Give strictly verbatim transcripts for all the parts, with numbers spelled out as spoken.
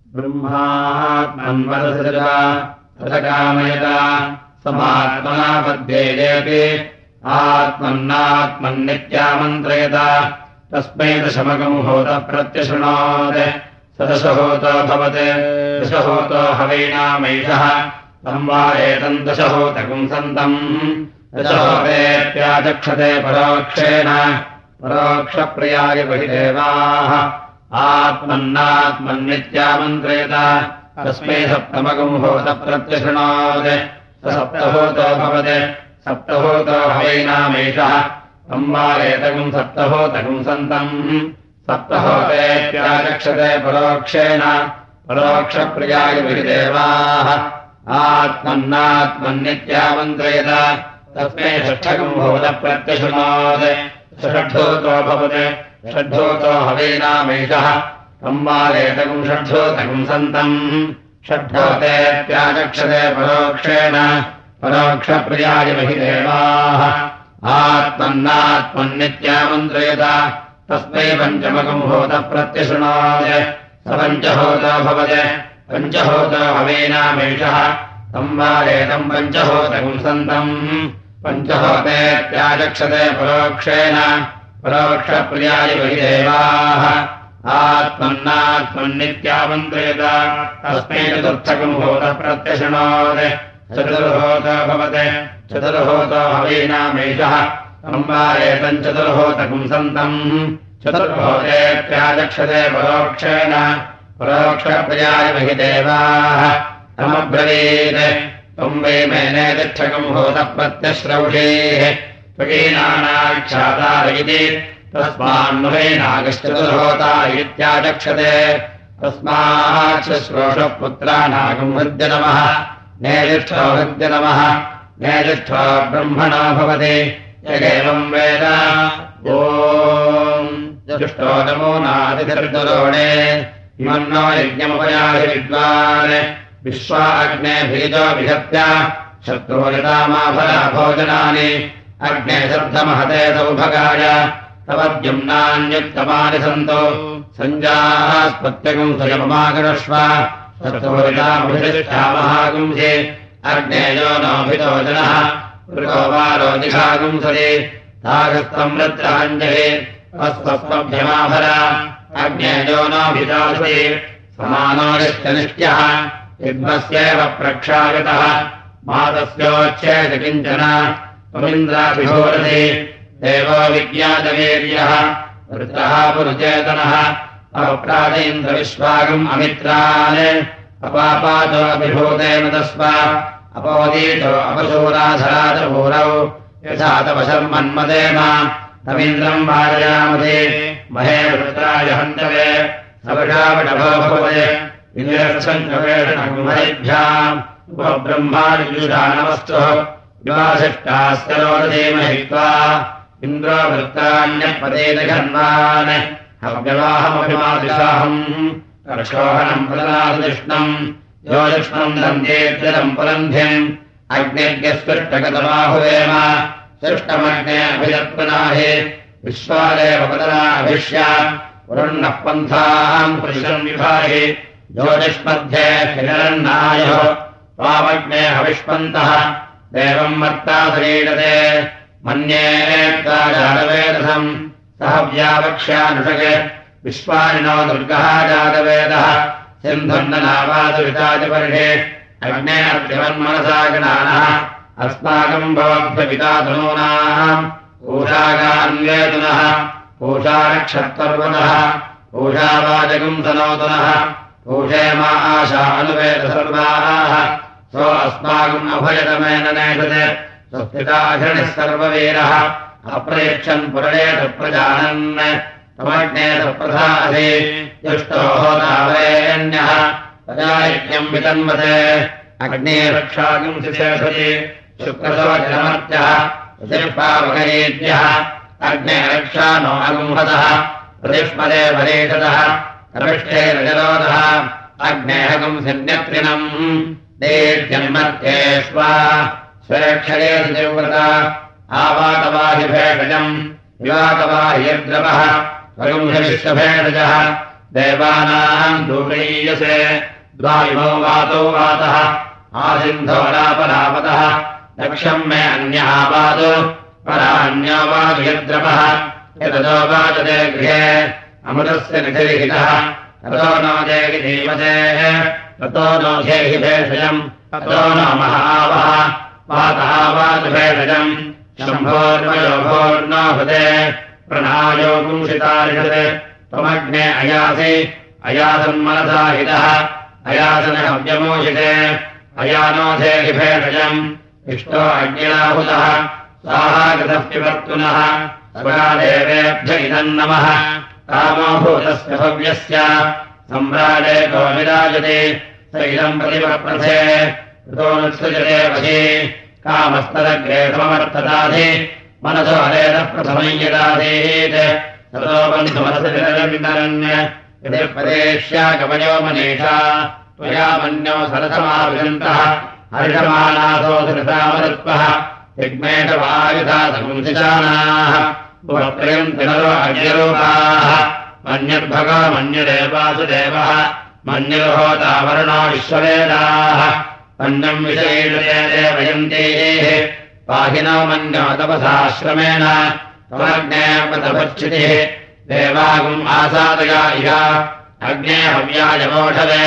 ब्रह्मात्मन्वदसृजा तदकामयता समात्मना पद्येजेति आत्मन्नात्मन्नित्यामन्त्रयता तस्मै दशमकमुहोतः प्रत्यशृणोत् स दशहोतो भवते दशहोतो हवैनामैषः संवारेतम् दशहोतकम् सन्तम् दशहोतेऽप्याचक्षते परोक्षेण परोक्षप्रियाय बहिदेवाः आत्मन्नात्मन्नित्यामन्त्रयता तस्मै सप्तमकमुहोतः प्रत्यशृणोत् स सप्तहोतो भवते सप्तहोतो हवैनामैषः संवारेतकम् सप्तहोतकम् सन्तम् सप्तहोतेऽप्याचक्षते परोक्षेण परोक्षप्रियाय बहिदेवाः आत्मन्नात्मन्नित्यामन्त्रयता तस्मै षष्ठकमुहोतः प्रत्यशृणोत् स षड्ढोतो भवते षड्ढोतो हवैनामैषः संवारेतकम् षड्ढोतकम् सन्तम् षड्ढोतेऽप्याचक्षते परोक्षेण परोक्षप्रियाय बहिदेवाः आत्मन्नात्मन्नित्यामन्त्रयता तस्मै पञ्चमकमुहोतः प्रत्यशृणोत् स पञ्चहोतो भवते पञ्चहोतो हवैनामैषः संवारेतम् पञ्चहोतकम् सन्तम् पञ्चहोतेऽप्याचक्षते परोक्षेण परोक्षप्रियाय बहिदेवाः आत्मन्नात्मन्नित्यामन्त्रयता तस्मै चतुर्थकमुहोतः प्रत्यशृणोत् चतुर्होतो भवते चतुर्होतो हवैनामैषः संवारेतम् चतुर्होतकम् सन्तम् चतुर्होतेऽप्याचक्षते परोक्षेण परोक्षप्रियाय बहिदेवाः तमब्रवीत् त्वम् वै मेने तिष्ठकमुहोतः प्रत्यश्रौषेः त्वकीनानाक्षातार इति तस्मान्नुहैनागश्चतुर्होता इत्याचक्षते तस्माच्छ्रोषपुत्रानागम् हृद्य नमः नेदिष्ठो हृद्य नमः नेदिष्ठो ब्रह्मणो भवति यगेवम् वेद ॐ जुष्टो नमो नादिधिर्दुरोणे इमन्नो यज्ञमुपयाहि विद्वान् विश्वा अग्ने भीजो विहत्य शत्रुरितामाफला भोजनानि अग्ने शब्दमहते सौभगाय तव द्युम्नान्युत्तमानि सन्तो सञ्जास्पत्यगम् स्वयममागरश्व शत्रुरितामभिष्ठामहागुंसि अग्नेयो नोभितो जनः मृगो वारो दिशागुंसति तागस्तम् रत्राञ्जहि अस्वस्मभ्यमाभरा अग्नेयो नोभितासि समानोरित्यनिष्ट्यः युग्मस्यैव प्रक्षागतः मातस्योच्छेद किञ्चन त्वमिन्द्राभिभूरसि देवो विज्ञातवीर्यः वृत्रः पुरुचेतनः अपप्राजेन्द्रविश्वागम् अमित्रान् अपापातो अभिभूतेन तस्म अपोदीतो अपशूराधराजभूरौ यथा तव शर्मन्मदेम तमिन्द्रम् वारयामधे महे वृत्राय हन्तवे सवषावटभो भवते इन्द्रक्षन्वेषणकुम्भरिभ्याम् उपब्रह्मादिजुषाणवस्तुः विवासिष्टास्य रोदधीमहित्वा इन्द्रो वृत्तान्यपदेदघन्वान् हव्यवाहमभिमादिशाहम् कर्षोहणम् प्रदनादिष्णम् योजिष्णम् दन्त्येत्यलम् पुरन्ध्यम् अग्निर्यस्पृष्टगतमाहुवेम सृष्टमग्ने अभिदत्पनाहि विश्वादेव पदनाभिष्या पुरन्नः पन्थाम् पुरुषम् विभाहि ज्योतिष्मध्ये हिरण्णायः त्वामग्ने हविष्पन्तः देवम् मर्ता सरीडते मन्ये जातवेदसम् सह व्यावक्ष्यानुषगे विश्वानिनो दुर्गः जातवेदः सिन्धुर्ननावादुषितादिपर्षे अग्ने अर्थिवन्मनसा गणानः अस्माकम् भवद्भ्यपिता तनूनाम् पूषागान्वेतुनः पूषानक्षत्पर्वतः पूषावाचकम् सनोतनः पूषे मा आशा अनुवेद सर्वाः सो अस्माकम् अभयतमेन नेषते स्वस्तिताधिरणिः सर्ववीरः अप्रयच्छन् पुरणेत प्रजानन् तमग्नेत प्रधासि जुष्टो होतावेन्यः प्रजायज्ञम् वितन्वते अग्ने रक्षागम् शिशेषति शुक्रसोजनमर्त्यः प्रतिष्पावकयेद्यः अग्ने रक्षा नो अगुंहतः प्रतिष्मदे वरेषतः रविष्ठे रजरोदः अग्नेहगम् सिन्यत्रिणम् देद्यन्मत्येष्वा स्वेक्षरे सुजिव्रता आवातवाहि भेषजम् विवातवाहि यद्रवः स्वगुंसविश्वभेषजः देवानाम् दूरयीयसे द्वाविमो वातो वातः आसिन्धो रापरापतः दक्षम् मे अन्यः पातु परान्यो वातु यद्रपः यततो वाचते गृहे अमृतस्य निधिरिहितः ततो नो देहि धीमते ततो नो धेहि भेषजम् ततो नो महावः वातः वातु भेषजम् शम्भोर्वयोभोर्नो हृदे प्रणायो पुंसितारिषते त्वमग्ने अयासि अयासन्मनसा हितः अयासनहव्यमोषिते अयानो धेहि भेषजम् इष्टो अग्निराहुतः स्वाहागतः पिबर्तुनः स्वगादेवेभ्य इदम् नमः कामो भूतस्य भव्यस्य सम्राजे को विराजते स इदम् प्रतिपप्रथे ऋतो नुत्सृजते वशी कामस्तदग्रे समवर्तताधि मनसो हरेतः प्रथमम् यदाधीत् ततो बन्धुमनसविरन्य यदि प्रदेश्या कवयो मनीषा त्वया मन्यो सरसमाविशन्तः हर्षमानासो धृतामरुत्वः यज्ञेशवायुधा समुंसितानाः उपत्रयन्ति नरो अग्निरूपाः मन्युर्भगो मन्युरेवासुदेवः मन्युर्होता वरुणो विश्ववेदाः मन्यम् विषयीषते देवयन्तीः पाहिनो मन्यो तपसाश्रमेण त्वमग्ने तपश्चितिः देवागुम् आसादया इह अग्ने हव्यायमोषवे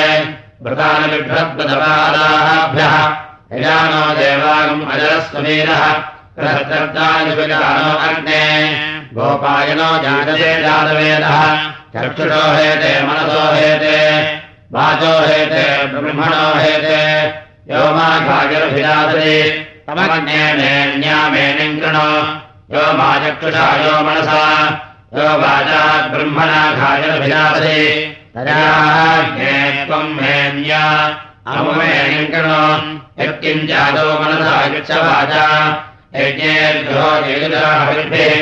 व्रतानबिभ्रद्वदपादाभ्यः यजानो देवागुम् अजरस्ववीरः प्रहर्तानुविजानो अग्ने गोपायनो जायते जातवेदः चक्षुषो हेते मनसो हेते वाचो हेते ब्रह्मणो हेते यो माघागिरभिरासति तमग्ने मेण्यामेनिम् कृणो यो माचक्षुषा यो मनसा यो वाचात् ब्रह्मणा घागिरभिरासति तदाज्ञे त्वम् मेन्या अमुमेनिम् कृणो यत्किञ्चादो मनसा गच्छवाचा यज्ञेभ्यो येजुराहविद्भिः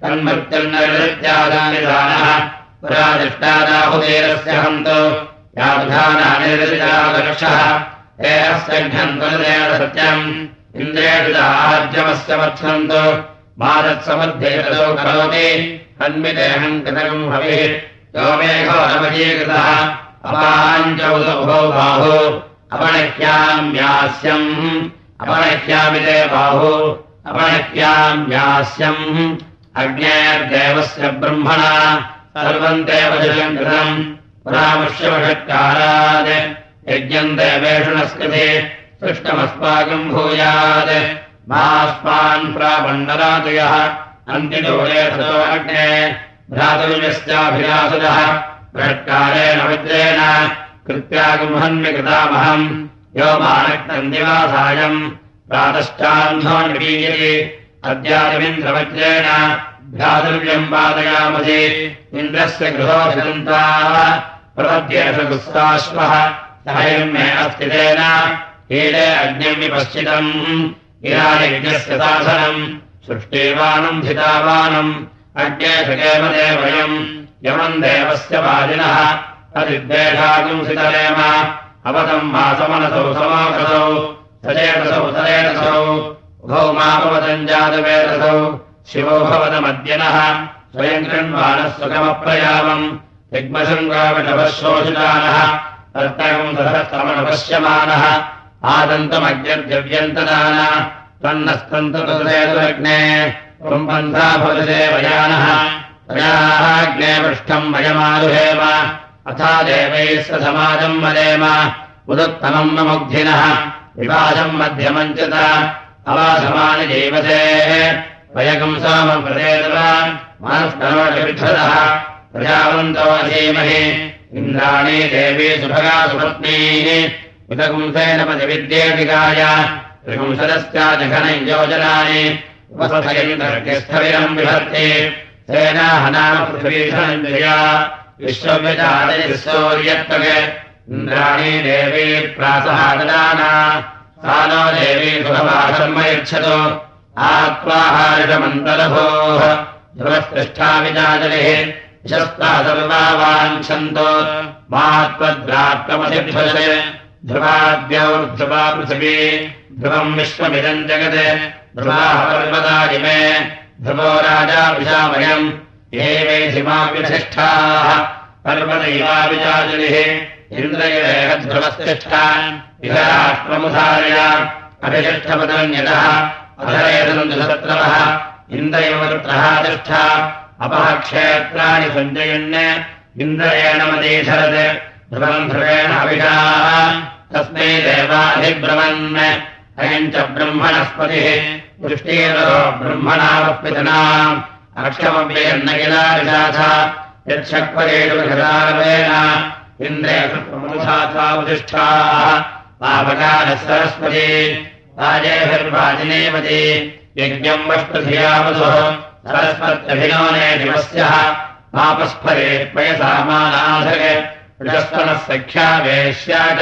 तन्मृत्युर्नैरृत्यादानिदानः पुरादिष्टादाहुतेरस्य हन्तु यावधानानिरृतादर्शः हे अस्यघ्नन्तनुदेन सत्यम् इन्द्रेषु आज्यमस्य वत्सन्तु मादत्समध्येततो करोति हन्मिदेहम् कृतकम् हविः यो मेघो नवजीकृतः अपाञ्चौदुभौ बाहु अपणह्याम्यास्यम् अपणह्यामिते बाहु अपणह्याम्यास्यम् अग्नेर्देवस्य ब्रह्मणा सर्वम् देवजलम् कृतम् पुरामुष्यवषत्कारात् यज्ञम् देवेषु नस्कृते सृष्टमस्माकम् भूयात् मास्मान् प्रापण्डरातु यः अन्तिदूरे ततो अग्ने भ्रातुर्यस्याभिलासदः बृहत्कारेण विद्रेण कृत्यागुम्हन्विकृतामहम् यो मानक्तम् दिवासायम् प्रातश्चाह्नो निपीयति अद्यादिमिन्द्रवज्रेण भ्रातुर्यम् पादयामसि इन्द्रस्य गृहोऽभिदन्ताः प्रपद्येषु गुस्ताश्वः सहैर्मे अस्ति तेन हीले अग्निम् विपश्चितम् गिरायज्ञस्य साधनम् सृष्टिवानम् धितावानम् अग्नेषुकेम देवयम् यमम् देवस्य वादिनः तदिद्वेषागुम् सितरेम अवतम् मासमनसौ समागतौ सचेतसौ सरेतसौ उभौ मापवतम् जातवेदसौ शिवो भवतमद्यनः स्वयम् कृण्वानः सुखमप्रयामम् दिग्मशृङ्गाविणवः शोषितानः तर्तकम् सहस्रमनुपश्यमानः आदन्तमग्निर्दिव्यन्तदान त्वन्नस्तन्तुतुलग्ने त्वम् पन्था भवति देवयानः तयाग्ने पृष्ठम् वयमारुहेम अथा देवैः स समाजम् वदेम उदुत्तमम् न मुग्धिनः विवासम् मध्यमम् च अवासमानि जीवसेः वयकम् सोमम् प्रदेतव मनस्करोषविक्षदः प्रजावन्तो अधीमहि इन्द्राणी देवी सुभगा सुपत्नीः उदकुंसेन पतिविद्येटिकाय त्रिपुंसदस्याजघनम् योजनानि उपस्थयन्तर्किस्थविरम् विभर्ति सेनाहनाम पृथ्वीषणन्द्रिया विश्वव्यजातिर्सौर्यत्वगे इन्द्राणी देवी प्रासहाददाना सा नो देवी सुभवासर्म यच्छतु आत्वाहारिषमन्तरभोः ध्रुवस्पृष्ठा विजाजलिः यशस्ता सर्वा वाञ्छन्तो मात्वद्रात्ममधिभ्यसे ध्रुवाद्यौर्ध्रुवा पृथिवी ध्रुवम् विश्वमिदम् जगत् ध्रुवाः पर्वतादिमे ध्रुवो राजा विशामयम् ये वैधिमाव्यधिष्ठाः पर्वदैवाविचाजलिः इन्द्रयेह ध्रुवस्तिष्ठा इह राष्ट्रमुधारय अभिषिष्ठपदन्यतः अधरेदन्दुसत्रवः इन्द्रयोत्रः तिष्ठा अपः क्षेत्राणि सञ्जयन् इन्द्रयेण मदीधरत् ध्रुवम् ध्रुवेण अभिषाः तस्मै देवाधिब्रवन् अयम् च ब्रह्मणस्पतिः दृष्टिरो ब्रह्मणावपितनाम् अक्षमव्ययन्न किलारिषाथ यच्छक्वरेण इन्द्रेषुप्रमुधाथावतिष्ठाः पावकारः सरस्वती राजेभिर्वाजिनेवती यज्ञम् वष्टधियावधुः सरस्वत्यभिनोने दिवस्यः पापस्फरे पयसामानाधरे ऋषस्तनः सख्या वेश्या च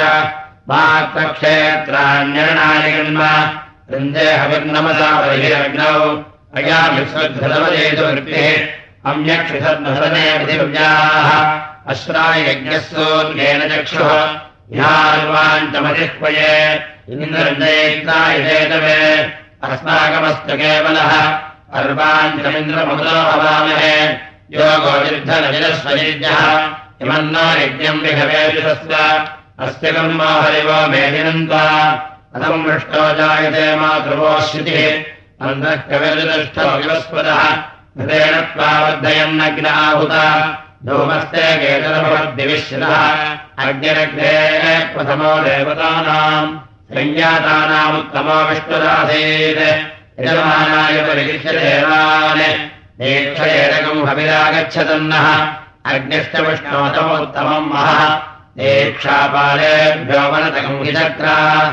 मात्रक्षेत्राण्यरणायगन्म वृन्देहविर्नमसा बहिरग्नौ अयामिस्वद्धृतवदेतुवृत्तिः अम्यक्षिधर्महरणे पृथिव्याः अश्रायज्ञः सूर्येण चक्षुः ह्यार्वाञ्चमजिह्वये इन्द्रञ्जयित्रायजेतवे अस्माकमस्तु केवलः अर्वाञ्चमिन्द्रममुदो हवामहे योगो निर्धनविरस्वजीज्ञः इमन्नो यज्ञम् विहवेजुषस्व अस्य कर्मो हरिवो मेदिनन्त्वा अथम् मृष्टो जायते मातृवो श्रुतिः अन्धः कविर्दुष्टो विवस्पदः हृदेन त्वा वर्धयन्नग्न आहुता धूमस्ते केतरभवद्दिविश्रितः अग्निरग्ने प्रथमो देवतानाम् संज्ञातानामुत्तमो विष्णुरासीत् यजमानाय परिगृह्य देवान् दीक्षयेदकम् हविरागच्छतन्नः अग्निष्टविष्णोतमोत्तमम् महः दीक्षापालेभ्यो वनतकम् हि चक्रा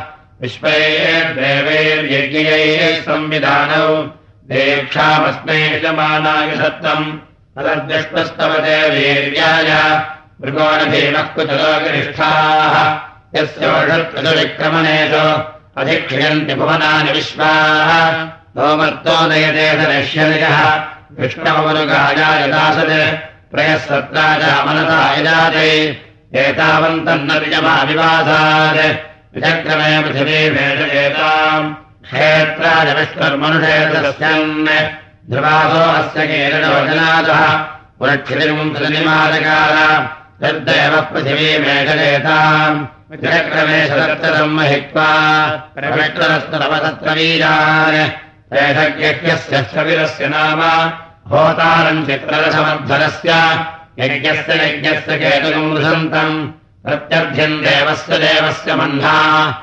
विश्वैर्देवैर्यज्ञैः संविधानौ दीक्षामस्मै यजमानाय सत्तम् तदद्विष्णुस्तवते वीर्याय मृगोणभीमः कुचलोगिरिष्ठाः यस्योषत्कृतविक्रमणेषु अधिक्रियन्ति भुवनानि विश्वाः भौमर्तो नयते धनश्यनिजः विष्णवमनुगायाय दासत् प्रयः सत्राजामनता यजाते एतावन्तन्न विजमाविवासात् विचक्रमे पृथिवीमेषयेताम् क्षेत्राय विष्णुर्मनुषेतस्यन् ध्रुवासो अस्य केरणोजनादः पुरक्षितिर्मुंसनिमादकार तद्देवः पृथिवीमेषयेताम् विचक्रमे शतक्रम् महित्वा प्रविष्टरस्तरवतत्रवीरान् एषज्ञस्य स्थविरस्य नाम होतारम् चित्ररसमध्वरस्य यज्ञस्य यज्ञस्य केतुकम् वृषन्तम् प्रत्यर्थ्यम् देवस्य देवस्य मह्ना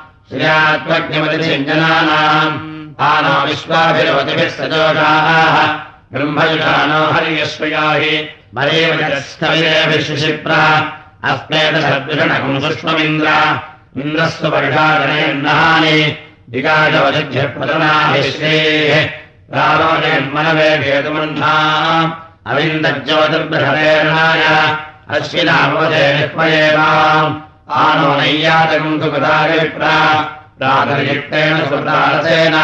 श्रियात्मज्ञमतिसिञ्जनानाम् आनो विश्वाभिरवतिभिः सजोषाः ब्रह्मयुषानो हर्यश्वयाहि मरेवजस्तविरेभिः शिशिप्रा अस्मेतसद्विषणकम् सुष्ममिन्द्र इन्द्रस्व वर्षाजनयन्नहानि दिगाजवजिभ्यः श्रेः प्रारोजन्मनवे भेतुमन्थाम् अविन्दज्योतिर्बृहरेणाय अश्विनामवदे विह्वयेवाम् आनो नैयातकम् सुकृताविप्रा प्रातर्युक्तेन सुकृतारसेन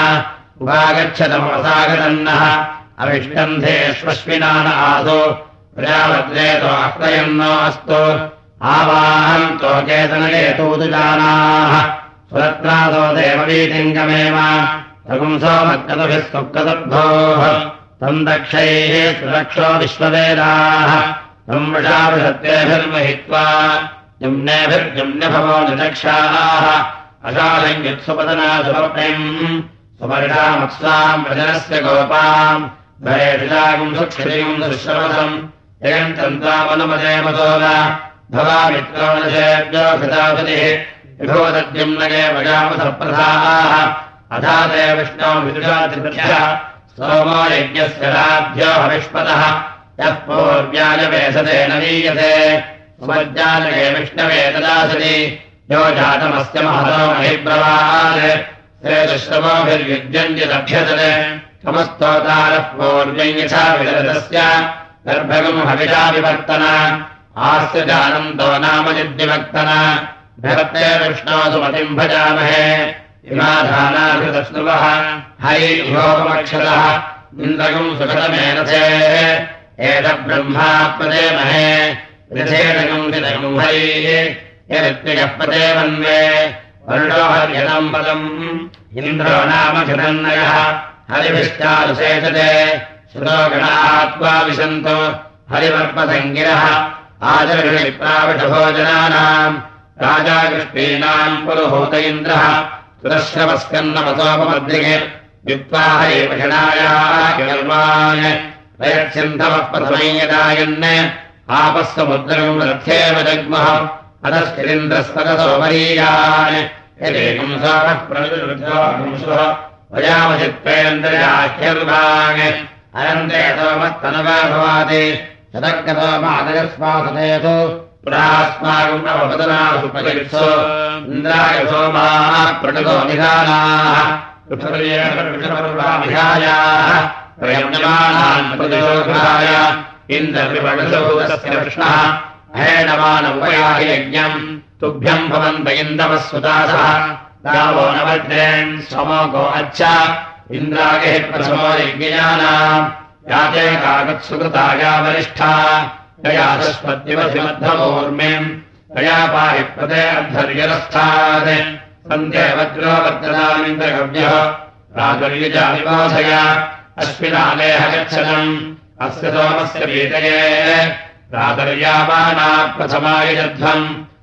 उपागच्छतमवसागतन्नः अविष्कन्धेष्वश्विनान आसो प्रजावद्रेतो अह्वयन्नो अस्तु आवाहन्तो केतनकेतूतुजानाः सुरत्रासो देववीतिङ्गमेव तगुंसो मत्कतभिः सुकृतद्भोः तम् दक्षैः सुरक्षो विश्ववेदाः तम् वृषाभिषत्तेभिर्महित्वा जम्नेभिर्जम्न्यभवो निदक्षाः अशालङ्युत्सुपदना सुवर्णम् सुवर्षामत्साम् व्रजनस्य गोपाम् भरेषिलागुम् सुक्षितिम् सुश्रवसम् जगन्तम् त्वामनुमदेमतोल भवामित्रोणसेभ्यो कृतापतिः विभोदद्युम्नगे वजामसप्रधाः अथा ते विष्णो विदुषातिभ्यः सोमो यज्ञस्य लाभ्यो हविष्पतः यः पूर्व्याजवेसते न वीयते सुमज्जालके विष्णवे तदासति यो जातमस्य महतो महिब्रवात् ते दुष्टमोभिर्युज्यन्त्यदभ्यतते समस्तोतारः पूर्व्यम् यथा विदतस्य गर्भगम् हविषा विवर्तन आस्य जानन्तो नाम यद्विवर्तन भवते विष्णो सुमतिम् भजामहे इमाधानाभितस्नुवः है योगमक्षतः इन्द्रगम् सुखतमेनथेः एतब्रह्मात्मदेमहे रथेनगम् विदगम् हरिः यदित्यगः पदेवन्वे वरुणो हर्यतम् पदम् इन्द्रो नाम घृतन्नयः हरिभिश्चारुसेचते श्रुतो गणात्वा विशन्तो हरिवर्पसङ्गिरः आचरणिप्राविषभोजनानाम् राजा कृष्णीनाम् पुरुहूत इन्द्रः सुरश्रवस्कन्नमसोपमद्रिगे विद्वाहये पषणायान् प्रयच्छन्धवः प्रथमयदायन् आपस्समुद्रम् रथ्येव जग्मः अतश्चिरिन्द्रस्पदसोमरीयान् यदेकम् सोमः प्रविरुद्धोऽंशुः वयामचित्पेन्द्रयाह्यर्वान् अनन्ते सोमस्तनवा भवाति शतक्रसोमादयस्वासतेषु पुरास्माकम् नवपदनासु परित्सु इन्द्राय सोमाः प्रणुतो निधानाः विहायाः प्रयम्यमानान् प्रतिशोधाय इन्द्रविपणसोदस्य कृष्णः अहेणमानमुपयाहि यज्ञम् तुभ्यम् भवन्त इन्दवः सुतासः गावो न वज्रेन् स्वमोको अच्छ इन्द्रागेः प्रथमो यज्ञयानाम् याते काकत्सुकृताया वरिष्ठा यया सस्पत्तिवधिमद्धमूर्मिम् यया पाहि प्रदे अर्धर्यरस्थात् सन्ध्ये वज्रो वर्तनामिन्द्रगव्यः प्रातुर्यजाविवासय अश्विनालेह गच्छतम् अस्य सोमस्य पीतये प्रातर्यावाना प्रथमायजध्वम्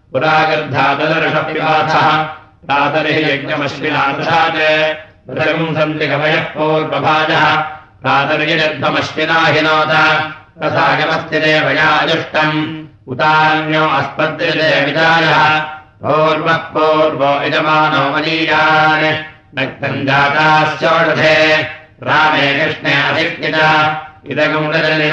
पुरागर्धातदर्षपिवाथः प्रातरिः यज्ञमश्विनादधात् मृतकम् सन्ति कवयः पूर्वभाजः प्रातर्यजध्वमश्विना हिनोत तथागमस्ति देवया अजुष्टम् उतान्यो अस्पद्यते विदायः पूर्वः पूर्वो यजमानो मनीयान् नक्तम् जाताश्चोषधे रामे कृष्णे अधिष्ठित इदगम्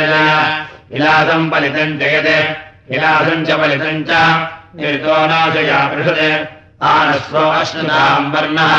इलासम् पलितम् जयते इलासम् च पलितम् च निर्तो नाशया पृषते आनस्वो अश्नुताम् वर्णः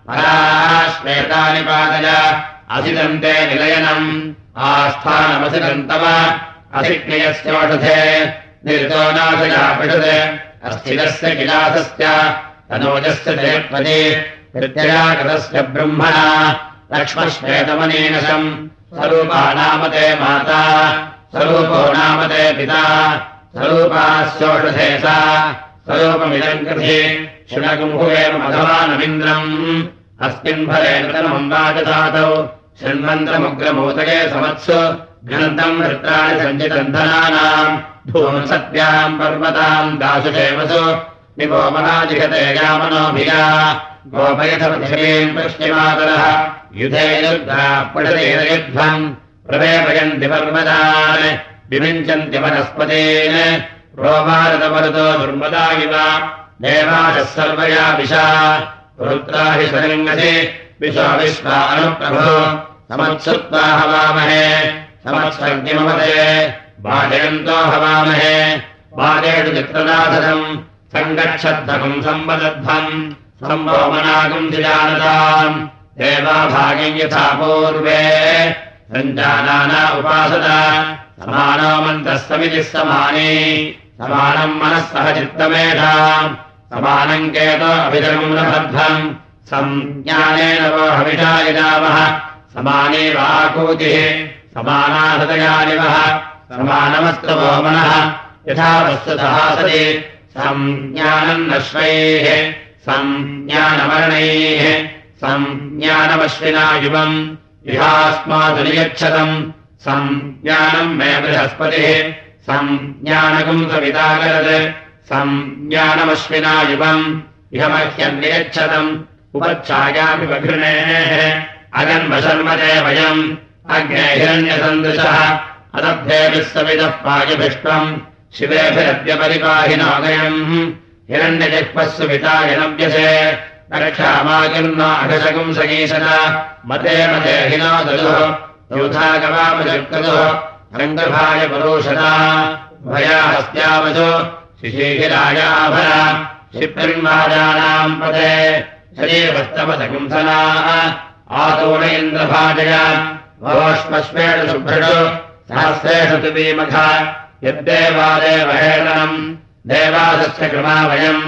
पराश्वेतानि पादय असिदन्ते निलयनम् आस्थानमसिदन्तव असिक्रियस्योषधे निर्तो नाशया पृषते अस्थिरस्य किलासस्य तनोजस्य जयत्वति प्रत्ययागतस्य ब्रह्मणा लक्ष्मश्वेतमनीनशम् स्वरूपा नाम ते माता स्वरूपो नाम ते पिता स्वरूपास्योषधे सा स्वरूपमिदम् कृधि शृणगुम्भुवेम मघवानमिन्द्रम् अस्मिन् फले नृतनमम् वाचसातौ शृण्वन्त्रमुग्रमूतये समत्सु घ्नन्तम् वृत्राणि सञ्जितन्धनानाम् धूमसत्याम् पर्वताम् दाशुषेवसु निपो महाजिघते यामनोभिया गोपयथपृथिवीम् पृष्टिमातरः युधे युद्धा पठतेयुध्वम् प्रवेपयन्ति पर्वतान् विविञ्चन्ति वनस्पतीन् प्रोभारतमरुतो दुर्मदा इव देवाशः सर्वया विशा रुद्रा हि सलिङ्गसि विश्वा विश्वा अनुप्रभो समत्सुत्वा हवामहे समत्सर्गिमवते बाधयन्तो हवामहे बाधेषु चित्रनाथम् सङ्गच्छद्धकम् सम्वदध्वम् सम्भोमनागम् जानताम् देवाभागम् यथा पूर्वे सञ्जानाना उपासता समानो मन्तः समितिः समाने समानम् मनः सह चित्तमेधाम् समानम् केतो अभिजगम् नभध्वम् संज्ञानेन वो हविषा यजामः समाने वाकूतिः समाना हृदयानिवः समानमस्तवो मनः यथा वस्तुतः सति संज्ञानम् नश्वैः संज्ञानमरणैः संज्ञानमश्विना युवम् इहास्मादु नियच्छतम् संज्ञानम् मे बृहस्पतिः संज्ञानकम् सविताकरत् संज्ञानमश्विना युवम् इह मह्यम् नियच्छतम् उपच्छायामि बघृणेः अगन्वशर्मते वयम् अग्ने हिरण्यसन्दृशः अदब्धेभिः सविदः पायभिष्टम् शिवेभिरद्यपरिपाहिनागयम् हिरण्यजिह्वस्सु वितायनव्यसे रक्षामाकिर्नो अघशकम् सगीशत मते मते हिनो ददुः यूथागवामजर्कदुः रङ्गभाय परोषता भया हस्त्यावसु शिशीहिरायाभर क्षिप्रिन्वाजानाम् पदे शरीरवस्तवसकुंसना आतोण इन्द्रभाजय भवश्मश्वेषु शुभ्रषु सहस्रेषु तुबीमघ यद्देवादेवहेळनम् देवादस्य कृमा वयम्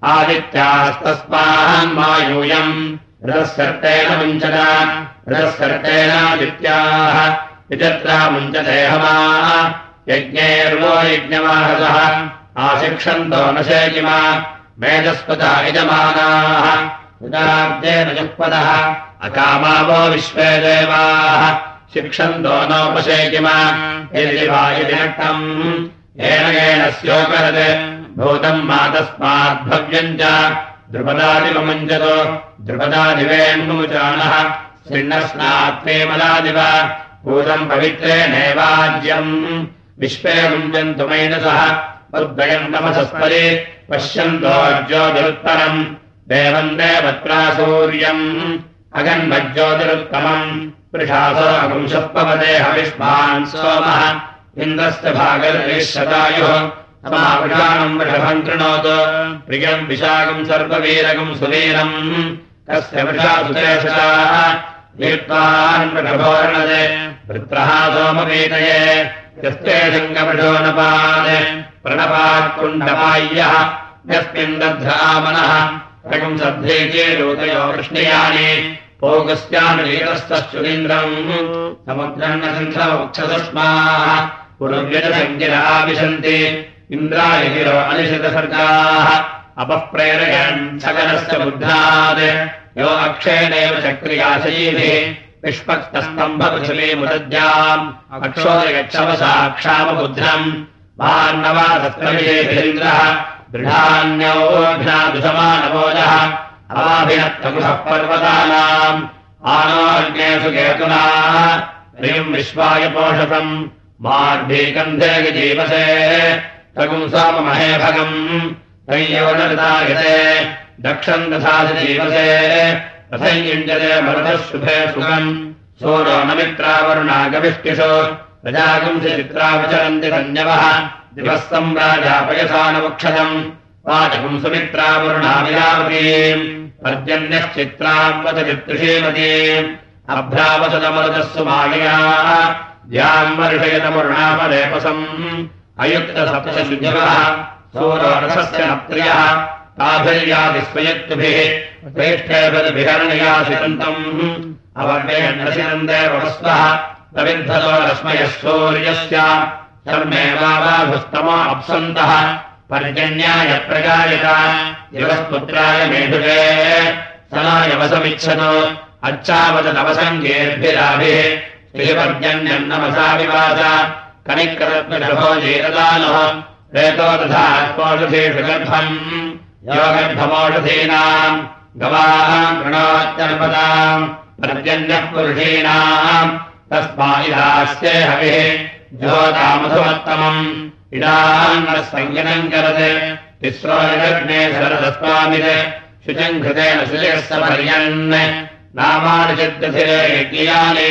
आदित्यास्तस्मान्मायूयम् रथस्कर्तेन मुञ्चत रथस्कर्तेनादित्याः विचत्रा मुञ्चते हमाः यज्ञेर्वो यज्ञमाहसः आशिक्षन्तो न शेकिमा मेधस्पता यजमानाः उदाब्देन जुह्वदः अकामावो विश्वे देवाः शिक्षन्तो नोपशेकिमा यदि वा यदि नक्तम् येन येन स्योकरत् भूतम् मातस्माद्भव्यम् च द्रुपदादिवमुञ्चतो द्रुपदादिवेन्मुचानः सिन्नस्नात्वेमलादिव भूतम् पवित्रेणैवाज्यम् विश्वे मुञ्चन्तु मैनसः उद्वयम् तमसस्परि पश्यन्तो ज्योतिरुत्तरम् देवम् देवत्रा सूर्यम् अगन्मज्योतिरुत्तमम् वृषासो अगुंशपवदे हविष्मान् सोमः इन्द्रस्य भागर्विशतायुः समावृषाणम् वृषभम् कृणोतु प्रियम् विशाखम् सर्ववीरकम् सुवीरम् तस्य वृषासुतेषाः वीर्त्वान् वृषभोर्णदे वृत्रः सोमवीतये यस्ते शङ्गवृषो नपादे प्रणपात्कुण्डपाय्यः यस्मिन् दध्रामनः रकम् सद्धेजे लोकयो वृष्णियानि पोगस्यानुलीतस्तश्चुरीन्द्रम् समुद्रम् न सन्धवक्षसस्माः पुरुव्यजसङ्गिराविशन्ति इन्द्राय गिरो अनिशितसर्गाः अपःप्रेरयन् सकलस्य बुद्धात् यो अक्षेणेव चक्रियाशयीभिः विष्पक्तस्तम्भपृथिवीमुदद्याम् अक्षोदयक्षवसाक्षामबुद्धम् वार्णवादत्रविजेभिरिन्द्रः दृढान्योऽघ्नादुषमानभोजः अवाभिनत्तकुशः पर्वतानाम् आनोऽग्नेषु केतुनाः प्रियम् विश्वाय पोषतम् मार्भीकन्धे जीवसे तगुम् सोममहे भगम् तय्योनृतायते दक्षम् दधाति जीवसे तथैयुञ्जते मरुतः शुभे सुखम् सूरो न मित्रावरुणागविष्टिषु प्रजागुंसि चित्रा विचरन्ति धन्यवः दिवः सम्राजापयसानमुक्षतम् वाचकम् सुमित्रावरुणाविरावतीम् पर्जन्यश्चित्राम् वदति श्रीमतीम् अभ्रावसदमरुतस्सु मालयाः द्याम् वर्षयतमरुणामलेपसम् अयुक्तसप्तशुजवः सूरो रथस्य न प्रियः ताभिर्यादिस्वयक्तुभिः श्रेष्ठेभिर्भिहरणयासितन्तम् अवर्वेणसिनन्देवस्वः प्रविद्धतो रश्मयः सूर्यस्य धर्मेवावाभुस्तमो अप्सन्तः पर्जन्याय प्रजायत दिवस्पुत्राय मेढुजे सनाय वसमिच्छतो अच्छावदनवसङ्गेर्भिराभिः श्रीपर्जन्यम् नमसा विवास कनिक्रतभो जीरदानः रेतो दधात्पोषधीषु गर्भम् यो गर्भमोषधीनाम् गवाम् कृणोत्यर्पदाम् पर्जन्यः पुरुषीणाम् तस्मा इदास्ये हविः ज्योतामधुमत्तमम् इडान्नः संज्ञनम् करते तिस्रो जगग्ने शरदस्वामित् शुचम् घृतेन शुचयस्य पर्यन् नामानि चिद्यथिरे यज्ञयानि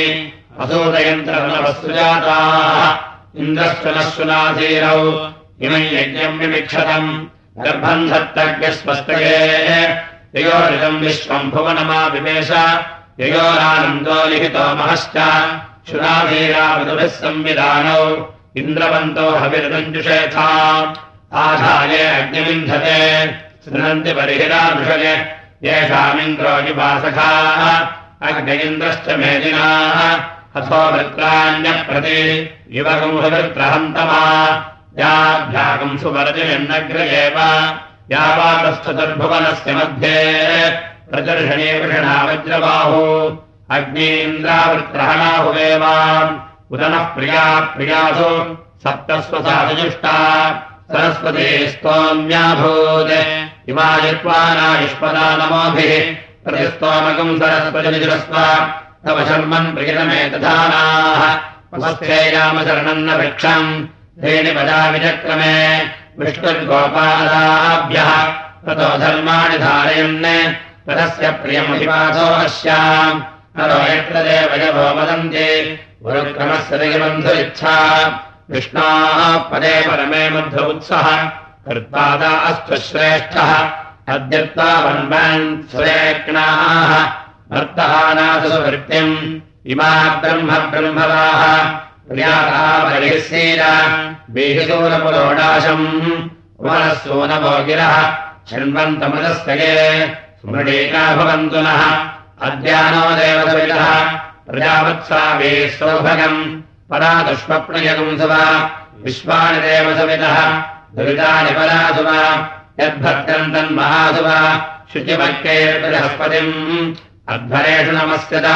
असूदयन्त्रवस्सुजाताः इन्द्रश्वनश्वनाधीरौ इमम् यज्ञम् विमिक्षतम् गर्भम् धत्तज्ञस्वस्तये ययोरिदम् विश्वम् भुवनमा विवेश ययोरानन्दो लिखितो महश्च शुनाधीरावधुभिः संविधानौ इन्द्रवन्तो हविर्दञ्जुषेथा आधाये अग्निविन्धते शृणन्ति बर्हिरादृशये येषामिन्द्रोजिवासखाः अग्न इन्द्रश्च मेदिनाः हथो वृत्राण्यप्रति युवगुंसवृत्रहन्तमा याभ्यागम् सुवर्जयन्नग्र एव यावातस्थचतुर्भुवनस्य मध्ये प्रदर्शने वृषणा वज्रबाहु अग्नीन्द्रावृत्रहणाहुवेव उदनः प्रिया प्रियासु सप्तस्वसाजुष्टा सरस्वती स्तोम्याभूत् इमायुष्मानायुष्मदा नमोभिः प्रतिस्तोमकम् सरस्वतिजुरस्व तव शर्मन् प्रियतमेतधानाः उपस्थेयामशरणम् न वृक्षम् धेनि पदा विचक्रमे विष्णुर्गोपादाभ्यः ततो धर्माणि धारयन् तदस्य प्रियमभिवासो अस्याम् नरो यत्र देवयवो वदन्ति गुरुक्रमस्य दिगबन्धुरिच्छा विष्णाः पदे परमे मध्य उत्सः कर्तादा अस्तु श्रेष्ठः अद्यत्वा वन्वन् सुरेक्णाः भर्तहानासु वृत्तिम् इमा ब्रह्म ब्रह्मवाः प्रियाता बलिःसीर बीहिसूरपुरोडाशम् उमरः सूनवो गिरः शृण्वन्तमदस्तये स्मृणीका भवन्तु नः अद्यानो देवसवितः प्रजावत्साभिः सौभगम् परादुष्मप्रियगुंसव विश्वानि देवसवितः दुरितानि परासुव यद्भक्तम् तन्महासुव शुचिभक्तेर्बृहस्पतिम् अध्वरेषु नमस्यत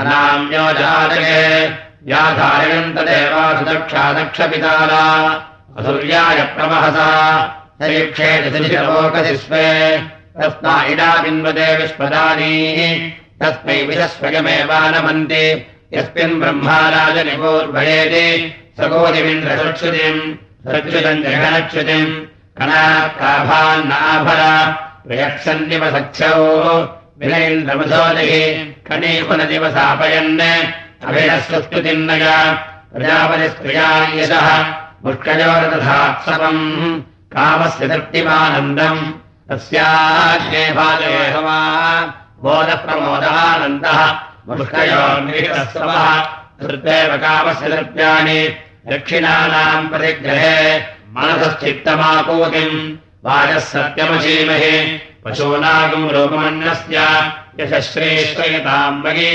अनाम्यो जातके या धारयन्त देवासु दक्षा दक्षपिताला असुर्याय प्रवहसा सरीक्षेति स्वे तस्मा इडा बिन्वते विश्वदानीः तस्मै विशस्वयमेवानमन्ति यस्मिन् ब्रह्माराजनिपूर्वयेति सकोदिमिन्द्रसुच्युतिम् सच्युतम् जगनच्युतिम् कणात्काभान्नाभर प्रयक्षन्निव सख्यौ विनैन्द्रमधोदिः कणीपुनदिवसापयन् अभिनस्वस्तुतिन्नय प्रजापतिस्त्रिया यशः मुष्कयोरतथात्सवम् कामस्य तृप्तिमानन्दम् तस्याग्ने भाजयेहवा बोधप्रमोदानन्दः मुष्कयोर्निहितस्वः धृतेव कामस्य तृप्त्यानि दक्षिणानाम् प्रतिग्रहे मनसश्चित्तमापूतिम् वाजः सत्यमशीमहि पशूनागम् रूपमन्नस्य यशश्रेष्ठयताम् मयि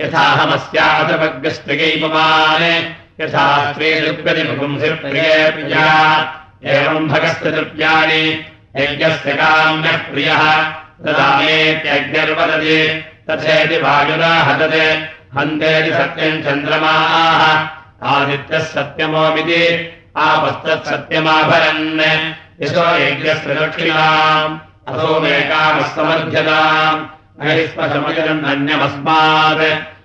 यथाहमस्यातपग्रस्त्रिगैपमान् यथा स्त्रीलिप्यतिपुंसिप्रिये प्रिया एवम् भगस्य तृप्यानि यज्ञस्य काम्यः प्रियः तदामेत्यग्निर्वदति तथेति वायुना हतते हन्तेति सत्यम् चन्द्रमाः आदित्यः सत्यमोमिति आपस्तत्सत्यमाभरन् यशो यज्ञस्य दक्षिणाम् असोमेकामस्तमध्यताम् अहिस्मशमजरम् अन्यमस्मात्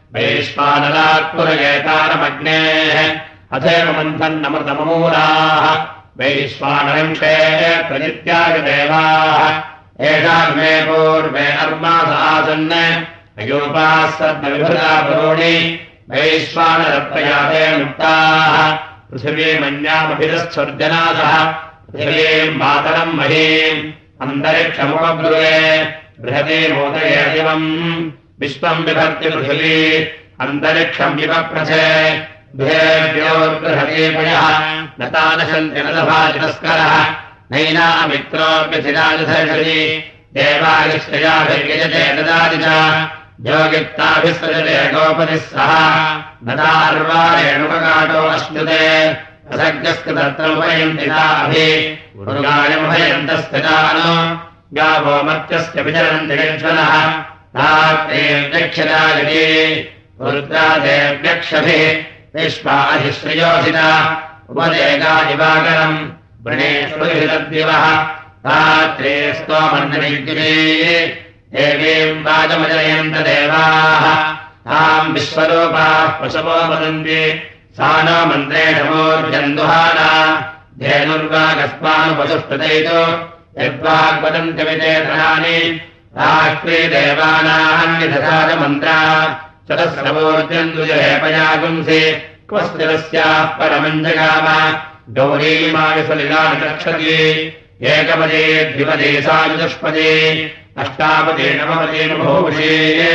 वैश्वानरात्पुरयेतारमग्नेः अथैव मन्थन्नमृतमूलाः वैश्वानरम् क्षेत्रजित्यागदेवाः एषाग्ने पूर्वे अर्मास आसन् अयोपाः सद्मविभृता पुरोणि वैश्वानरप्रयाते मुक्ताः पृथिवीमन्यामभिरस्वर्जनादः पृथिवीम् मातरम् महीम् अन्तरिक्षमुपब्रुवे बृहते मोदये दिवम् विश्वम् बिभर्ति पृथिवी अन्तरिक्षम् विपप्रथे बृहेभ्योर्बृहतीपयः न तानशन्ति न लभातितस्करः नैनामित्रोऽप्यथिराजधर्षति देवायश्चयाभिर्यजते ददाति च योगित्ताभिसृजते गोपतिः सह नदार्वारेणुपकाटो अश्नुते असज्ञस्कृतत्रोपयन्ति ताभि उर्गायमुभयन्तस्थितानो गावो मर्त्यस्य विचरन्ति यज्वनः तात्रेऽध्यक्षदायति रुद्रादेव्यक्षभिः विश्वा अधिश्रियोषिता उपदेगादिवाकरम् वृणेष्वभितद्दिवः रात्रे स्तोमन्नविद्युते देवीम् वाजमजयन्त देवाः ताम् विश्वरूपाः पशवो वदन्ति सा नो मन्त्रेण मूर्जन्दुहाना धेनुर्वागस्मानुपसुष्टुतैतो यद्वाग्वदन्त्यविचेतनानि राष्ट्रे देवानान्यथसाजमन्त्रा चतस्रवोर्जन्दुजहेपयागुंसि क्वस्तिरस्याः परमञ्जगाम गौरीमाविसलिलानि रक्षति एकपदे द्विपदे सायुजुष्पदे अष्टापदे नवपदे बभूषे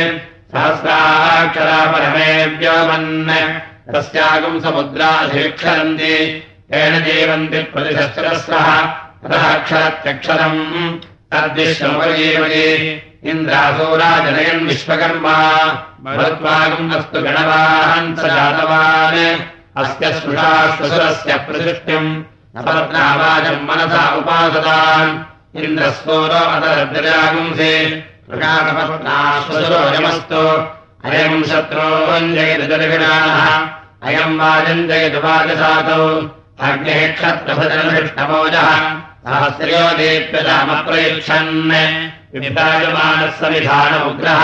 सहस्राक्षरा परमे व्योमन् तस्यागम् समुद्राधिक्षरन्ति तेन जीवन्ति प्रतिशस्त्रस्रः अतः क्षरत्यक्षरम् तद्विश्वमुपजीवति इन्द्रासूराजनयन् विश्वकर्मा भवत्वागम् अस्तु गणवान् स जातवान् अस्य स्पृशाश्वसुरस्य प्रसृष्टिम् अपरत्नावाचम् मनसा उपासताम् इन्द्रस्तोरो अतरद्रजागुंसि प्रकाशपत्नाश्वसुरो यमस्तु अयम् शत्रोञ्जयदुर्विणाः अयम् वाजञ्जयतु वाजसातौ अग्निः क्षत्रभजनधिष्ठमोजः सहस्र्यो दीप्यतामप्रयुच्छन् विभ्राजमानः समिधानमुग्रः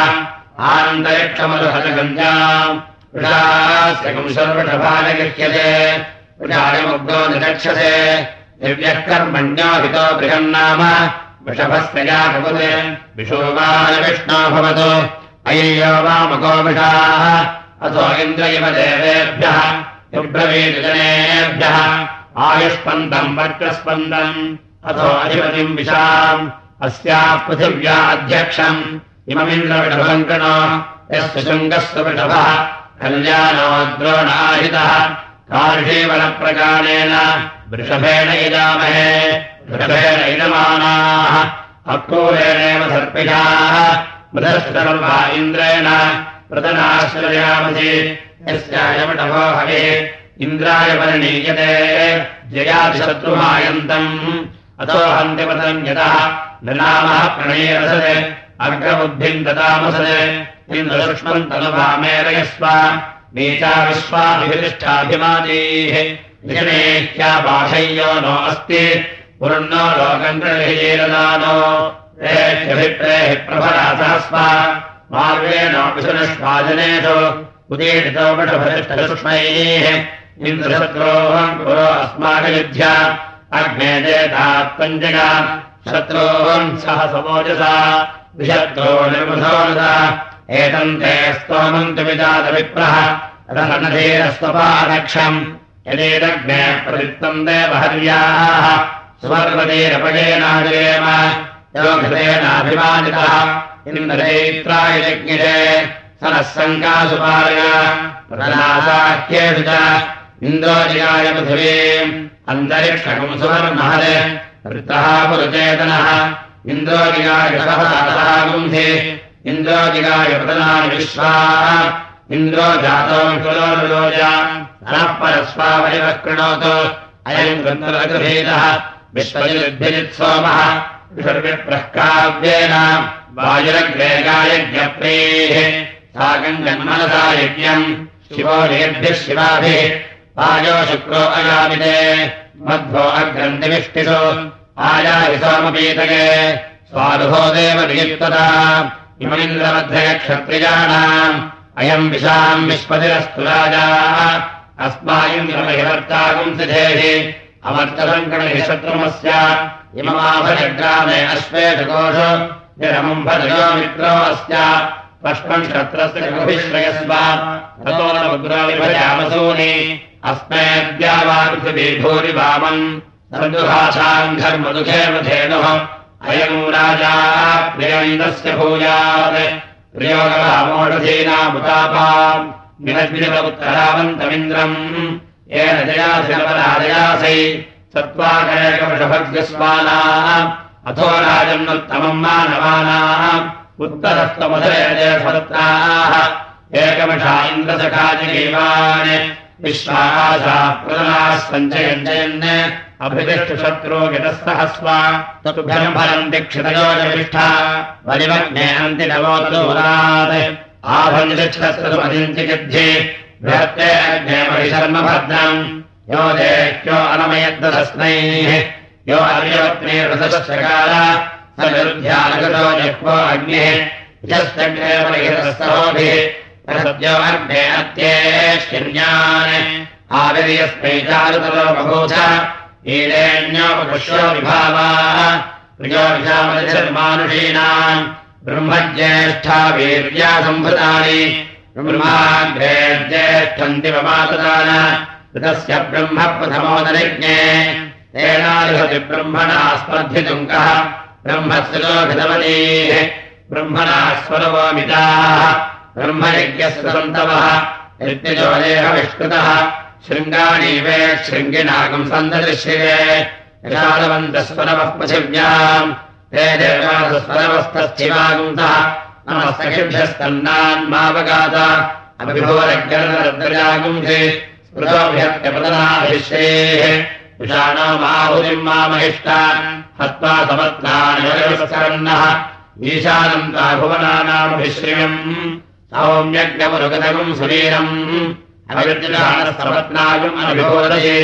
आनन्तरिक्षमरुहतगञ्जाम् वृषास्यकम् सर्वषभालगृह्यते वृषायमुग्रो निचक्षसे दिव्यः कर्मण्यो हितो बृहन्नाम वृषभस्यया भवते विशोवानविष्णो भवतु अय्यो वामको वृषाः अथो इन्द्र इव देवेभ्यः युब्रवीजनेभ्यः आयुष्पन्दम् वर्चस्पन्दम् अथो अधिपतिम् विशाम् अस्याः पृथिव्या अध्यक्षम् इममिन्द्रवृषभम् कृणो यस्य शृङ्गस्य वृषभः कल्याणो द्रोणाहितः कार्षीवनप्रकारेण वृषभेण इदामहे वृषभेण इदमानाः अक्रूरेणेव सर्पिषाः मृधश्रवा इन्द्रेण प्रदनाश्रयामसि यस्यायवृषभो हविः इन्द्राय परिणीयते जयादिशत्रुमायन्तम् अतो हन्तिपतम् यतः नृणामः प्रणयरसते अग्रबुद्धिम् ददामसते इन्द्रसूक्ष्मम् तनुभामेरयस्व नीचा विश्वाभितिष्ठाभिमानीः निषणेह्याबाधय्यो नो अस्ति पुरुन्नो लोकम् गृहीरदानो रेह्यभिप्रेः प्रभरासहस्वा मार्वेणो विशुनश्वाजनेषु उदीरितो वटभरिष्ठसुष्मैः इन्द्रशत्रोहम् पुरो अस्माकयुध्य अग्ने देतात्पञ्जगा शत्रोहम् सह समोजसा विशत्रो निर्मधोनदा एतम् ते स्तोमम् तु विजातविप्रः रनधीरस्वपादक्षम् यदेदग्ने प्रवृत्तम् देवहर्याः सुवर्वतीरपयेनाजयेम योगतेनाभिमानितः इन्द्रैत्राय यज्ञिरे सनः सङ्कासुपाय प्रदासाख्येषु च इन्द्रोजिगाय पृथिवीम् अन्तरिक्षकम् सुवर्महरे वृत्तः पुरुचेतनः इन्द्रोजिगाय सहसातः गुंसि इन्द्रोजिगाय प्रदनानि विश्वाः इन्द्रो जातो कुलोरुलोज नः परस्वावरिवः कृणोतु अयम् गन्धर्वगृहीतः विश्वजिद्भिजित्सोमः विषर्विप्रः काव्येन वायुरग्रेगायज्ञप्रीः साकम् जन्मनसा यज्ञम् शिवो नेभ्यः शिवाभिः वायो शुक्रो अयामिते मध्वो अग्रन्थिविष्टिषु आयाहि सोमपीतके स्वानुभो देव नियुक्तता इममिन्द्रमध्यक्षत्रियाणाम् अयम् विशाम् विश्वतिरस्तु राजाः अस्मायुर्तागुंसिधेः अमर्तसङ्कणहि शत्रुमस्य इममाभजग्रामे अश्वेषकोषु निरमुम्भजयो मित्रो अस्य पष्पम् क्षत्रस्य गृभिश्रयस्व ततो न मुद्राविभजामसूनि अस्मेद्यावापृथिवी भूरि वामम् सन्दुहासाम् घर्मदुःखेव धेनुः अयम् राजा प्रियमिन्दस्य भूयात् प्रियोगवामोषधीनामुतापाम् विनद्विनवुत्तरावन्तमिन्द्रम् येन जयासिनवराजयासै सत्त्वाकैकवृषभग्यस्वानाः अथो राजन्नुत्तमम् मानवानाम् उत्तरस्तमधरेजयसत्ताः एकमषा इन्द्रसखाजिगीवान् विश्वासा प्रदनाः सञ्चयञ्जयन् अभितिष्ठशत्रो गितस्तहस्वा तुभ्यम् फलम् दीक्षितयोजविष्ठा वलिमग्ने अन्तिनवोत्तूरात् आभञ्जिक्षस्तुमदिञ्चिगिद्धि बृहत्ते अग्ने परिशर्म भद्रम् यो देह्यो अनमयद्दस्नैः यो अर्यवत्नीर्वसश्चकार स विरुध्यानगतो जह्वो अग्निः यश्चग्ने परिहृतस्तहोभिः सद्यो अग्ने अत्येष्यन्यान् आविर्यस्मै चारुतरो बभूथ ईरेण्योपपुष्यो विभावाः प्रियो विषामतिर्मानुषीणाम् ब्रह्मज्येष्ठा वीर्या सम्भृतानि ब्रह्माग्रे ज्येष्ठन्तिवमातदान ऋतस्य ब्रह्म प्रथमोदनिज्ञे तेनालिहति ब्रह्मणा स्पर्धितुम् कः ब्रह्मस्य लोभितवतीः ब्रह्मणा स्वरवोमिताः ब्रह्मयज्ञस्य सन्तवः नित्यजोदेहविष्कृतः शृङ्गाणीवे शृङ्गिनागम् सन्ददृश्ये यशालवन्तस्वरवः पृथिव्याम् ते देवासस्वरवस्तस्थिवागुंसः नमस्तकिभ्यस्तन्नान्मावगात अभिभोरग्रजागुंसि स्मृतोभ्यत्यपदनाभिश्रेः विषाणो माहुतिम् मामहिष्टा हत्वा समत्नानिवस्करन्नः ईशानम् ता भुवनानामभिश्रियम् सौम्यज्ञमुरुगतगुम् सुवीरम् अविर्जितानस्तपत्नागुम् अनभिभोदये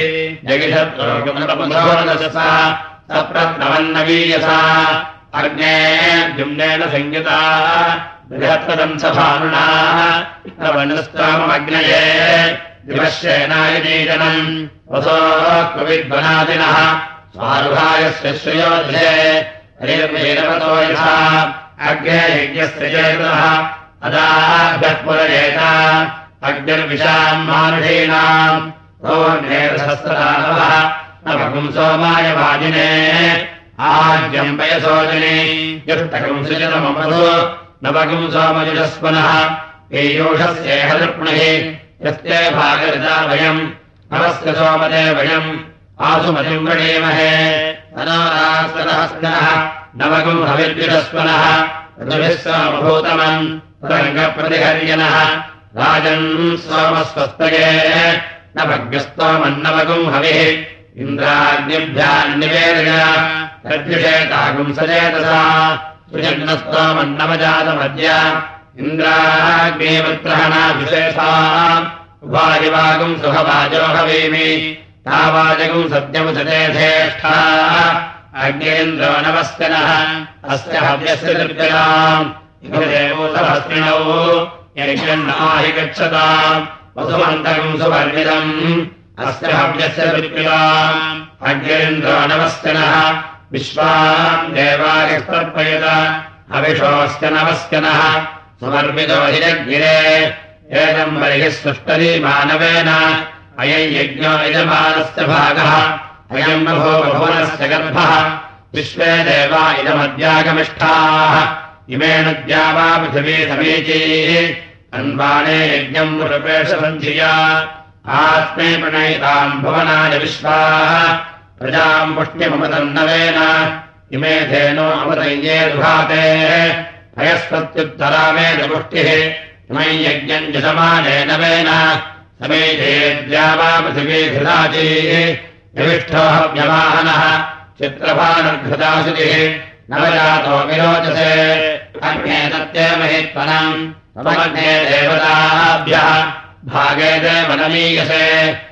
जगिषत्रोगमनपधोरदशसा सप्रत्नवन्नवीयसा अग्ने जुम्नेन संयुता बृहत्पदम् सभानुनाः नवनस्तामग्नये दिवश्येनायनीजनम् वसो कविद्वनादिनः स्वारुहायस्य श्रियोधे हरिर्वीरवतो यथा अग्ने यज्ञस्य चेतः अदाभ्यः पुरजेता अग्निर्विशाम् मानुषीणाम् सोऽग्नेरसहस्रदानवः नवकुम् सोमाय वाजिने आज्यम् पयसोजने युष्टकम् सुजनममसो नवकुम् सोमजुषस्वनः पीयूषस्येह दृप्णिः यस्ते भागरिता वयम् नवस्य सोमदे वयम् आसुमतिम् वृणीमहे अनारास्तनः नवकुम् हविर्जुषस्वनः ऋतुभिः सोमभूतमम् रङ्गप्रतिहर्यनः राजन् सोमस्वस्तये नवग्रस्तोमन्नवकुम् हविः इन्द्राग्निभ्यान्निवेदय तद्विषेतागुम् सचेतसा सुजन्नस्तोमन्नवजातमद्य इन्द्राग्निवत्रहणाभिषेषा उभारिवागुम् सुहवाजो हवीमि तावाजगम् सत्यमुचते धेष्ठा अग्नेन्द्रो नमस्कनः अस्य हव्यस्य दृग्गलाम् देवोतभस्त्रिणौ यज्ञन्नाहि गच्छताम् वसुमन्तकम् सुवर्णिदम् अस्य हव्यस्य दृग्गलाम् अग्नेन्द्रो नमस्कनः विश्वाम् देवायस्तर्पयत हविषोऽस्य नमस्कनः सुवर्मिदो हिरग्निरे एदम् बर्हिः सृष्टरी मानवेन अयम् यज्ञो यजमानस्य भागः अयम् बभो बभुवनस्य गर्भः विश्वे देवा इदमद्यागमिष्ठाः इमेन द्यावा पृथिवी समीचीः अन्वाने यज्ञम् रूपेशसन्धिया आत्मे प्रणयिताम् भुवनाय विश्वाः प्रजाम् पुष्टिममतम् नवेन इमे धेनो अमतये दुहाते हयस्पत्युत्तरामेन पुष्टिः इमम् यज्ञम् यजमानेन वेन समेधे द्यावा पृथिवी घृताचीः यविष्ठो हव्यवाहनः चित्रभानर्घृताशुतिः नवजातो विरोचसे अग्ने तत्ते महित्वनम् तमग्ने देवताभ्यः भागे देवनमीयसे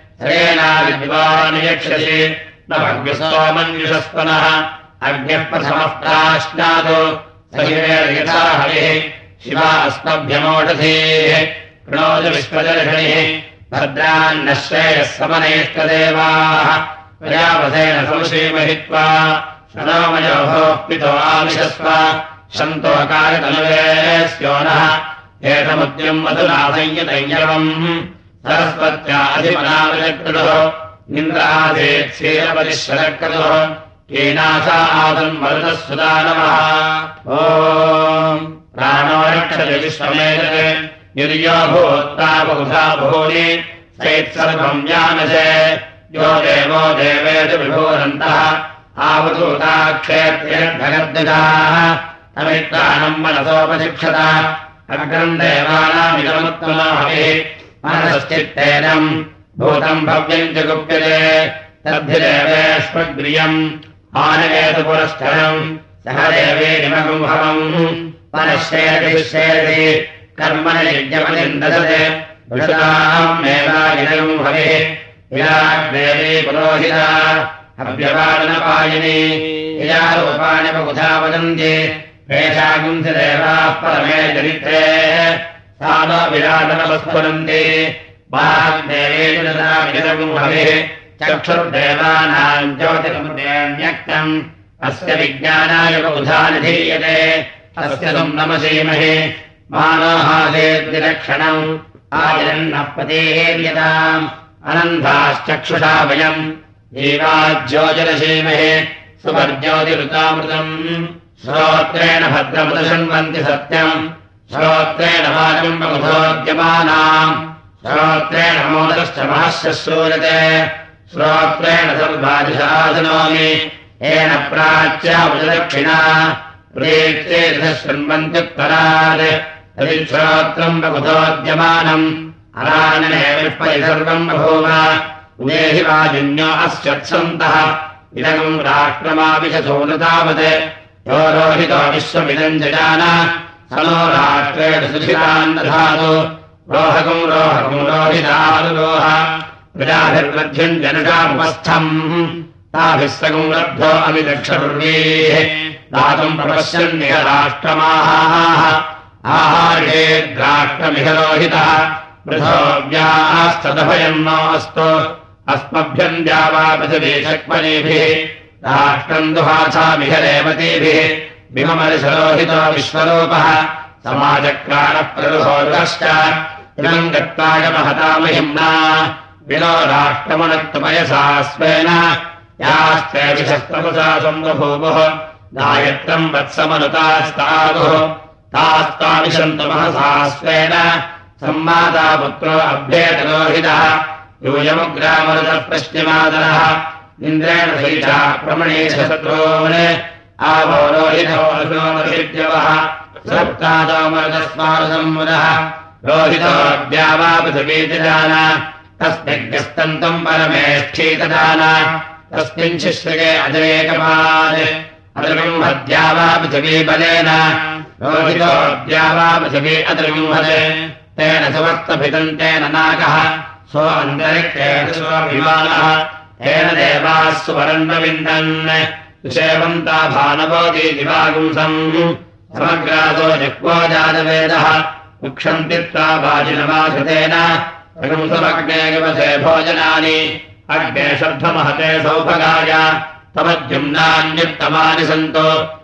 सरेणाविद्वानियक्षसि न भग्यस्तोमन्युषस्पनः अग्निः प्रथमः प्राश्नातु सहिरेर्यथा हरिः शिवा अस्मभ्यमोषधीः प्रणोद विश्वदर्शनिः भद्रान्नः श्रेयः समनेष्टदेवाः प्रजापतेन संश्रीमहित्वा शनोमयोः पितो आविशस्व शन्तोकायतनुवे स्योनः एतमुद्यम् मधुना संयतञ्जलम् सरस्वत्या अधिमनाविचक्रतुः इन्द्राधेत् क्षीरपतिश्वरक्रतुः कीनासा आदन्मरुतः सुदा नमः ओम् प्राणो रक्षति विश्वमेतते निर्यो भूत्ता बहुधा भूनि सैत्सर्वम् जानसे यो देवो देवेषु विभूरन्तः आवधूता क्षेत्रेर्भगर्दजाः तमित्राणम् मनसोपशिक्षत अग्रम् देवानामिदमुत्तमाभिः मनसश्चित्तेनम् भूतम् भव्यम् च गुप्यते तद्धिदेवेष्वग्रियम् आनयेतु पुरश्चरम् सह देवीरिमगुम्भवम् मनश्चेति कर्मण यज्ञपतिन्दसते वृषाम् मेवागिरगुम् हविः विराग्देवी पुरोहिता हव्यपालनपायिनी यजारूपाणि बहुधा वदन्ति पेशागुंसि देवाः परमे चरित्रे सा नो विराटनवस्फुरन्ति वाग्देवी विरगुम् हविः चक्षुर्देवानाम् ज्योतिर्मुद्रेण्यक्तम् अस्य विज्ञानाय बहुधा निधीयते अस्य तुम् नमसीमहि मानोहासेद्विलक्षणम् आचरन्नः पतेर्यताम् अनन्धाश्चक्षुषा वयम् जीवाज्योतिरसीमहे सुवर्ज्योतिरुतामृतम् श्रोत्रेण भद्रमुदशृण्वन्ति सत्यम् श्रोत्रेण वाचम् बहुधोद्यमानाम् श्रोत्रेण मोदश्च महश्च श्रूयते श्रोत्रेण सर्वादिशासनोमि येन प्राच्यावदक्षिणा प्रेत्ये शृण्वन्त्युत्तरात् तदिश्रोत्रम् बहुधोद्यमानम् अरानने विष्परि सर्वम् बभूव उदेहि वाजिन्यो अस्यत्सन्तः इदगम् राष्ट्रमाविशसोनतावत् यो रोहितो विश्वमिदम् जजान स नो राष्ट्रेण सुधितान् दधातु रोहकम् रोहकम् रोहितानुरोह प्रजाभिर्वध्यम् जनुषामुपस्थम् ताभिः सगम् लब्धो अमिदक्षर्वीः दातुम् प्रपश्यन्निह राष्ट्रमाहाः आहार्येद्राष्ट्रमिह रोहितः पृथोव्यास्तदभयम् नोऽस्तु अस्मभ्यम् द्यावा पृथिवी शक्मनीभिः राष्ट्रम् दुहासामिह रेवतीभिः विममरिषरोहितो विश्वरूपः समाचक्राणप्ररुहोदश्च इदम् गत्वाय महतामहिम्ना विनो राष्ट्रमनत्तपयसा स्वेन यास्ते विशस्तपसा सम्बभूवुः गायत्रम् वत्समनुतास्तादुः तास्ताविशन्तु महसा स्वेन सम्माता पुत्रो अभ्येतरोहितः यूयमुग्रामरुतः पश्चिमादरः इन्द्रेण सहिता प्रमणेशत्रोन् आवो रोहितो अग्नोमर्हिद्यवः सप्तादो मरुतस्मारुसम्मुदः रोहितो द्यावा पृथिवीतिदान तस्मिग्रस्तन्तम् परमेष्ठीतदान तस्मिन् शिश्रगे अजरेकपात् अद्रविंहद्यावा पृथिवीबलेन रोहितो द्यावा पृथिवी अद्रविंहत् तेन सुवर्तभितम् तेन नागः सो अन्तरिक्षेण स्वभिमानः तेन देवाः सुवरन्वविन्दन् सुषेवन्ता भानवोदीतिवागुंसम् समग्रासो जक्वो जातवेदः उक्षन्ति त्वा वाजिनवासतेन प्रगुंसमग्ने गवसे भोजनानि अग्ने शब्दमहते सौभगाय तमद्युम्नान्युत्तमानि सन्तो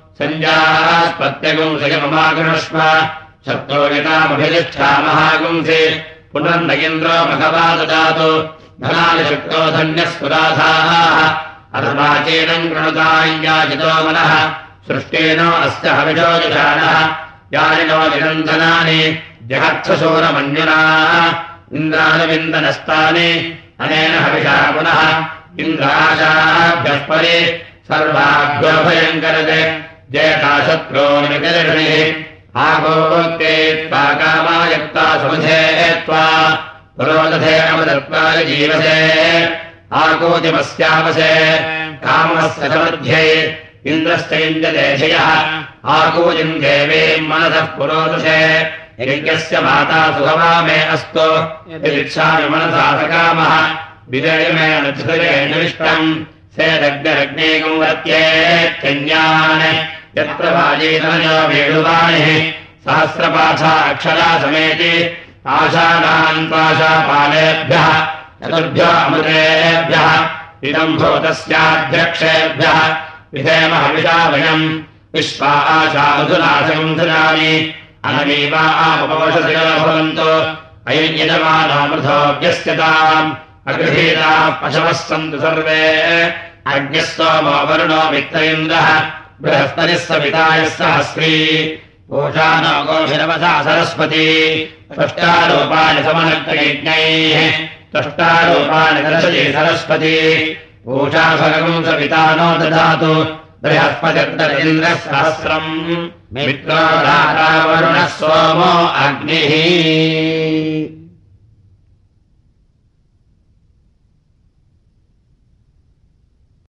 सञ्जास्पत्यगुंसयममागृष्व शक्तोगितामभिलिष्ठा महागुंसि पुनर्न इन्द्रो मघवा ददातु धनानि शक्तो धन्यस्फुराधाः अर्वाचीनम् कृणुताञ्याजितो मनः सृष्टेनो अस्य हविषो जुषाणः यानिनो निरञ्जनानि जगत्सशूरमन्युना इन्द्रानुविन्दनस्तानि अनेन हविषा पुनः इन्द्राशाभ्यः परि सर्वाभ्यो भयङ्करते जयताशत्रोनिकर्षिः आगोक्ते त्वा कामायक्ता सुमधे त्वा पुरोदधे अमदत्वारि जीवसे आकूतिमस्यावसे कामस्य मध्ये इन्द्रश्च इन्द्रदेशयः आकूतिम् देवीम् मनसः पुरोदशे यज्ञस्य माता सुखमा मे अस्तु यदिच्छामि मनसा सकामः विजयमेन धृतरेणविष्टम् सेदग्निरग्नेकम् वर्त्येत्यन्यान् यत्र वाजीतनयो वेणुवाणिः सहस्रपाठा अक्षरा समेति आशानान् पाशापालेभ्यः चतुर्भ्यो अमृतेभ्यः इदम् भूतस्याध्यक्षेभ्यः विधेम हविषा वयम् विश्वा आशा मधुनाशकम् धुनानि अनमीवा आमुपवशसियो भवन्तु अयम् यजमानोऽमृतोऽभ्यस्यताम् अगृहीताः पशवः सन्तु सर्वे अग्निः सोमो वरुणो मित्र इन्द्रः बृहस्पतिः सवितायः सहस्री पूषानो गोभिरवसा सरस्वती त्वष्टारूपाणि समनक्तयज्ञैः त्वष्टारूपाणि दर्शति सरस्वती पूषा भगवम् सविता नो ददातु बृहस्पतिर्दर इन्द्रः सहस्रम् मित्रो वरुणः सोमो अग्निः